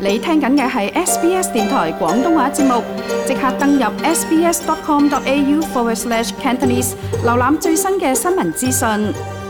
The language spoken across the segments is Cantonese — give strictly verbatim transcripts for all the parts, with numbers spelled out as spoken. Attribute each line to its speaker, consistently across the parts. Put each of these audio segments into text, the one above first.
Speaker 1: 你聽緊嘅係 S B S 電台廣東話節目，即刻登入 sbs.com.au forward slash Cantonese， 瀏覽最新嘅新聞資訊。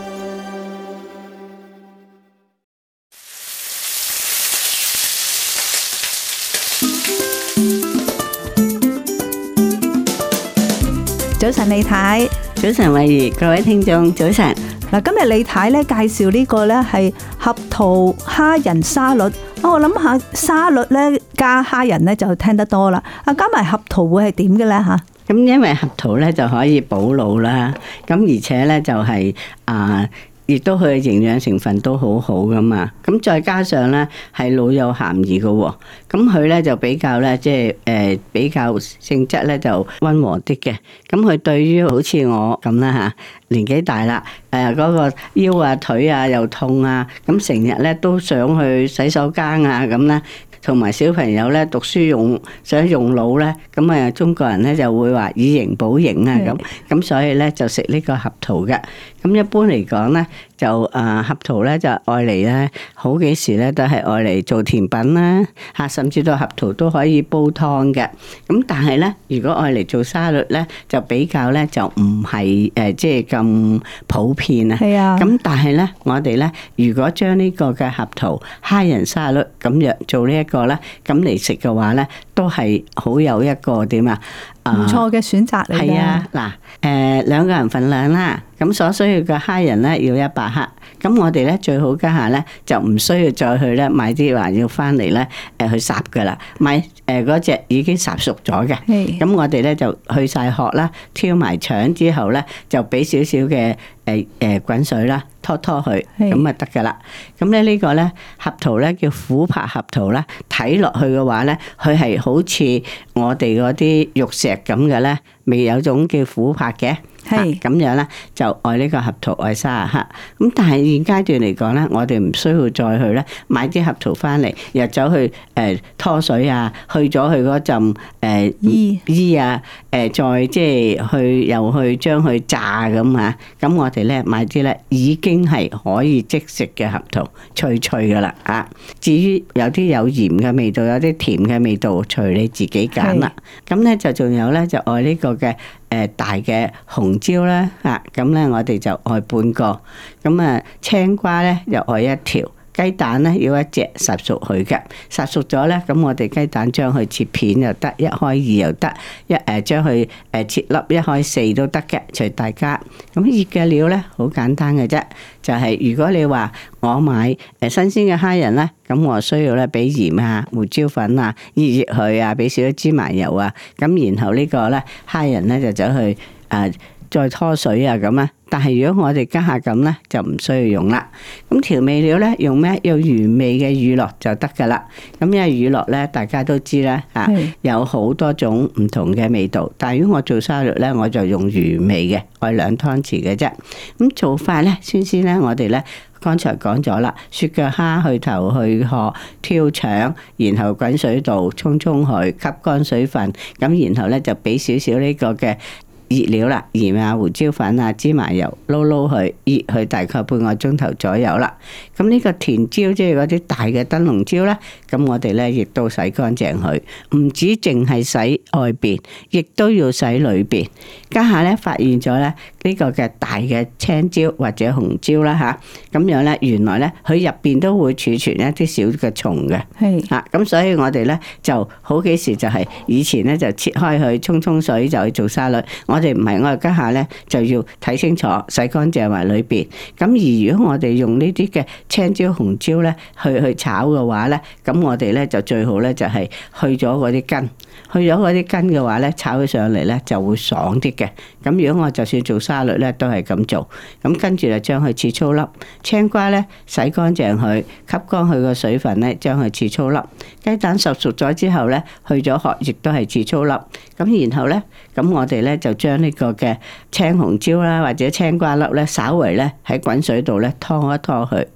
Speaker 2: 早晨李太，
Speaker 3: 早晨慧怡，各位聽眾早晨。
Speaker 2: 嗱，今日李太咧介紹呢個咧係合桃蝦仁沙律。我諗下沙律咧加蝦仁咧就聽得多啦，啊加埋合桃會係點嘅咧吓？
Speaker 3: 咁因為合桃咧就可以補腦啦，咁而且咧就係啊。亦都佢嘅營養成分都好好噶嘛，咁再加上咧係老幼咸宜嘅喎，咁佢咧就比較咧即係誒比較性質咧就溫和啲嘅，咁佢對於好似我咁啦嚇，年紀大啦，誒嗰個腰啊腿啊又痛啊，咁成日咧都想去洗手間啊咁咧。同埋小朋友咧讀書用想用腦咧，咁啊中國人咧就會話以形補形啊咁，咁所以咧就食呢個合桃嘅。咁一般嚟講咧，就啊合桃咧就愛嚟咧好幾時咧都係愛嚟做甜品啦嚇，甚至到合桃都可以煲湯嘅。咁但係咧，如果愛嚟做沙律咧，就比較咧就唔係誒即係咁普遍啊。
Speaker 2: 係啊。咁
Speaker 3: 但係咧，我哋咧如果將呢個嘅合桃蝦仁沙律咁樣做呢一個咧，咁嚟食嘅話咧，都係好有一個點啊，
Speaker 2: 唔錯嘅選擇嚟嘅。
Speaker 3: 係啊，嗱，誒兩個人份量啦，咁所需要嘅蝦仁咧要一百克，咁我哋咧最好家下咧就唔需要再去咧買啲話要翻嚟咧誒去烚噶啦，買誒嗰隻已經烚熟咗嘅，咁我哋咧就去晒殼啦，挑埋腸之後咧就俾少少嘅誒誒滾水啦，拖拖佢，咁啊得噶啦。咁咧呢個咧合桃咧叫琥珀合桃啦，睇落去嘅話咧，佢係好似我哋嗰啲玉石咁嘅咧，未有種叫琥珀嘅。係咁樣咧，就愛呢個合桃愛三十克。咁但係現階段嚟講咧，我哋唔需要再去咧買啲合桃翻嚟，又走去誒拖水啊，去咗佢嗰陣誒衣衣啊，誒再即係去又去將佢炸咁啊。咁我哋咧買啲咧已經係可以即食嘅合桃，脆脆噶啦啊。至於有啲有鹽嘅味道，有啲甜嘅味道，隨你自己揀啦。咁咧就仲有咧就愛呢個嘅。誒大嘅紅椒啦，嚇咁咧我哋就愛半個，咁啊青瓜咧又愛一條，雞蛋咧要一隻烚熟佢嘅，烚熟咗咧，咁我哋雞蛋將佢切片又得，一開二又得，一誒將佢誒切粒一開四都得嘅，隨大家。咁醃嘅料咧好簡單嘅啫，就係、是、如果你話我買誒新鮮嘅蝦仁咧，咁我需要咧俾鹽啊、胡椒粉啊醃醃佢啊，俾少少芝麻油啊，咁然後呢個咧蝦仁咧就走去誒。呃再拖水啊咁啊，但係如果我哋家下咁咧，就唔需要用啦。咁調味料咧用咩？用原味嘅乳酪就得噶啦。咁因為乳酪咧，大家都知啦嚇，有好多種唔同嘅味道。但係如果我做沙律咧，我就用原味嘅，愛兩湯匙嘅啫。咁做法咧，先先咧，我哋咧剛才講咗啦，雪腳蝦去頭去殼，挑腸，然後滾水度沖沖佢，吸乾水分。咁然後咧就俾少少呢個嘅熱料啦，鹽啊、胡椒粉啊、芝麻油撈撈佢，醃佢大概半個鐘頭左右啦。咁呢個甜椒即係嗰啲大嘅燈籠椒咧，咁我哋咧亦都洗乾淨佢，唔止淨係洗外邊，亦都要洗裏邊。家下咧發現咗咧呢個嘅大嘅青椒或者紅椒啦吓，咁樣咧原來咧佢入邊都會儲存一啲小嘅蟲嘅，係吓咁，所以我哋咧就好幾時就係以前咧就切開佢沖沖水就去做沙律。我哋唔係，我哋家下咧就要睇清楚，洗乾淨埋裏邊。咁而如果我哋用呢啲嘅青椒、紅椒咧去去炒嘅話咧，咁我哋咧就最好咧就係去咗嗰啲根，去咗嗰啲根嘅話咧，炒起上嚟咧就會爽啲嘅。咁如果我就算做沙律咧，都係咁做。咁跟住就將佢切粗粒，青瓜咧洗乾淨佢，吸乾佢個水分咧，將佢切粗粒。雞蛋烚熟咗之後咧，去咗殼，亦都係切粗粒。咁然後咧，咁我哋咧就將呢個嘅青紅椒啦，或者青瓜粒咧，稍微咧喺滾水度咧拖一拖佢，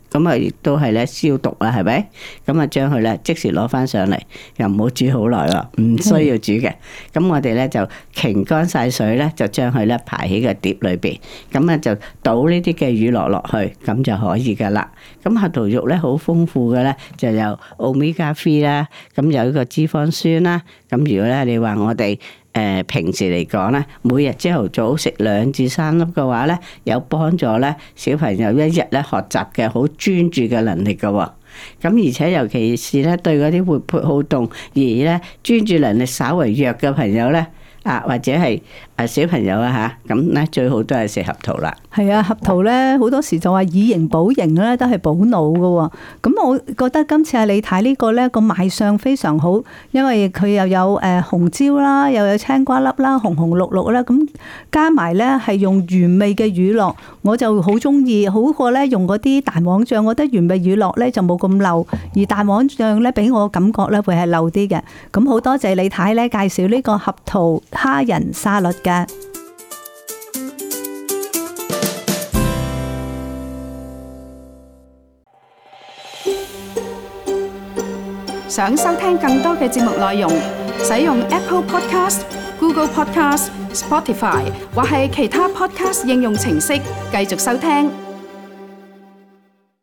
Speaker 3: 咁啊亦都係咧消毒啦，係咪？咁啊將佢咧即時攞翻上嚟，又唔好煮好耐喎，唔需要煮嘅。咁我哋咧就擎乾晒水咧，就將佢咧排喺個碟裏邊，咁啊就倒呢啲嘅乳酪落去，咁就可以噶啦。咁核桃肉咧好豐富嘅咧，就有 omega three 啦，咁有呢個脂肪酸啦。咁如果咧你話我哋誒平時嚟講咧，每日朝頭早食兩至三粒嘅話咧，有幫助咧小朋友一日咧學習嘅好專注嘅能力嘅喎。咁而且尤其是咧對嗰啲活潑好動而咧專注能力稍為弱嘅朋友咧，啊或者係誒小朋友啊嚇，咁咧最好都係食核桃啦。
Speaker 2: 係啊，核桃咧好多時就話以形補形咧，都係補腦嘅。咁我覺得今次阿李太呢個咧個賣相非常好，因為佢又有誒紅椒啦，又有青瓜粒啦，紅紅綠綠啦，咁加埋咧係用原味嘅乳酪，我就好中意，好過咧用嗰啲蛋黃醬。我覺得原味乳酪咧就冇咁漏，而蛋黃醬咧俾我感覺咧會係漏啲嘅。咁好多謝李太咧介紹呢個核桃蝦仁沙律嘅。
Speaker 1: 想收聽更多嘅節目內容，使用 Apple Podcast、Google Podcast、Spotify 或係其他 Podcast 應用程式繼續收聽。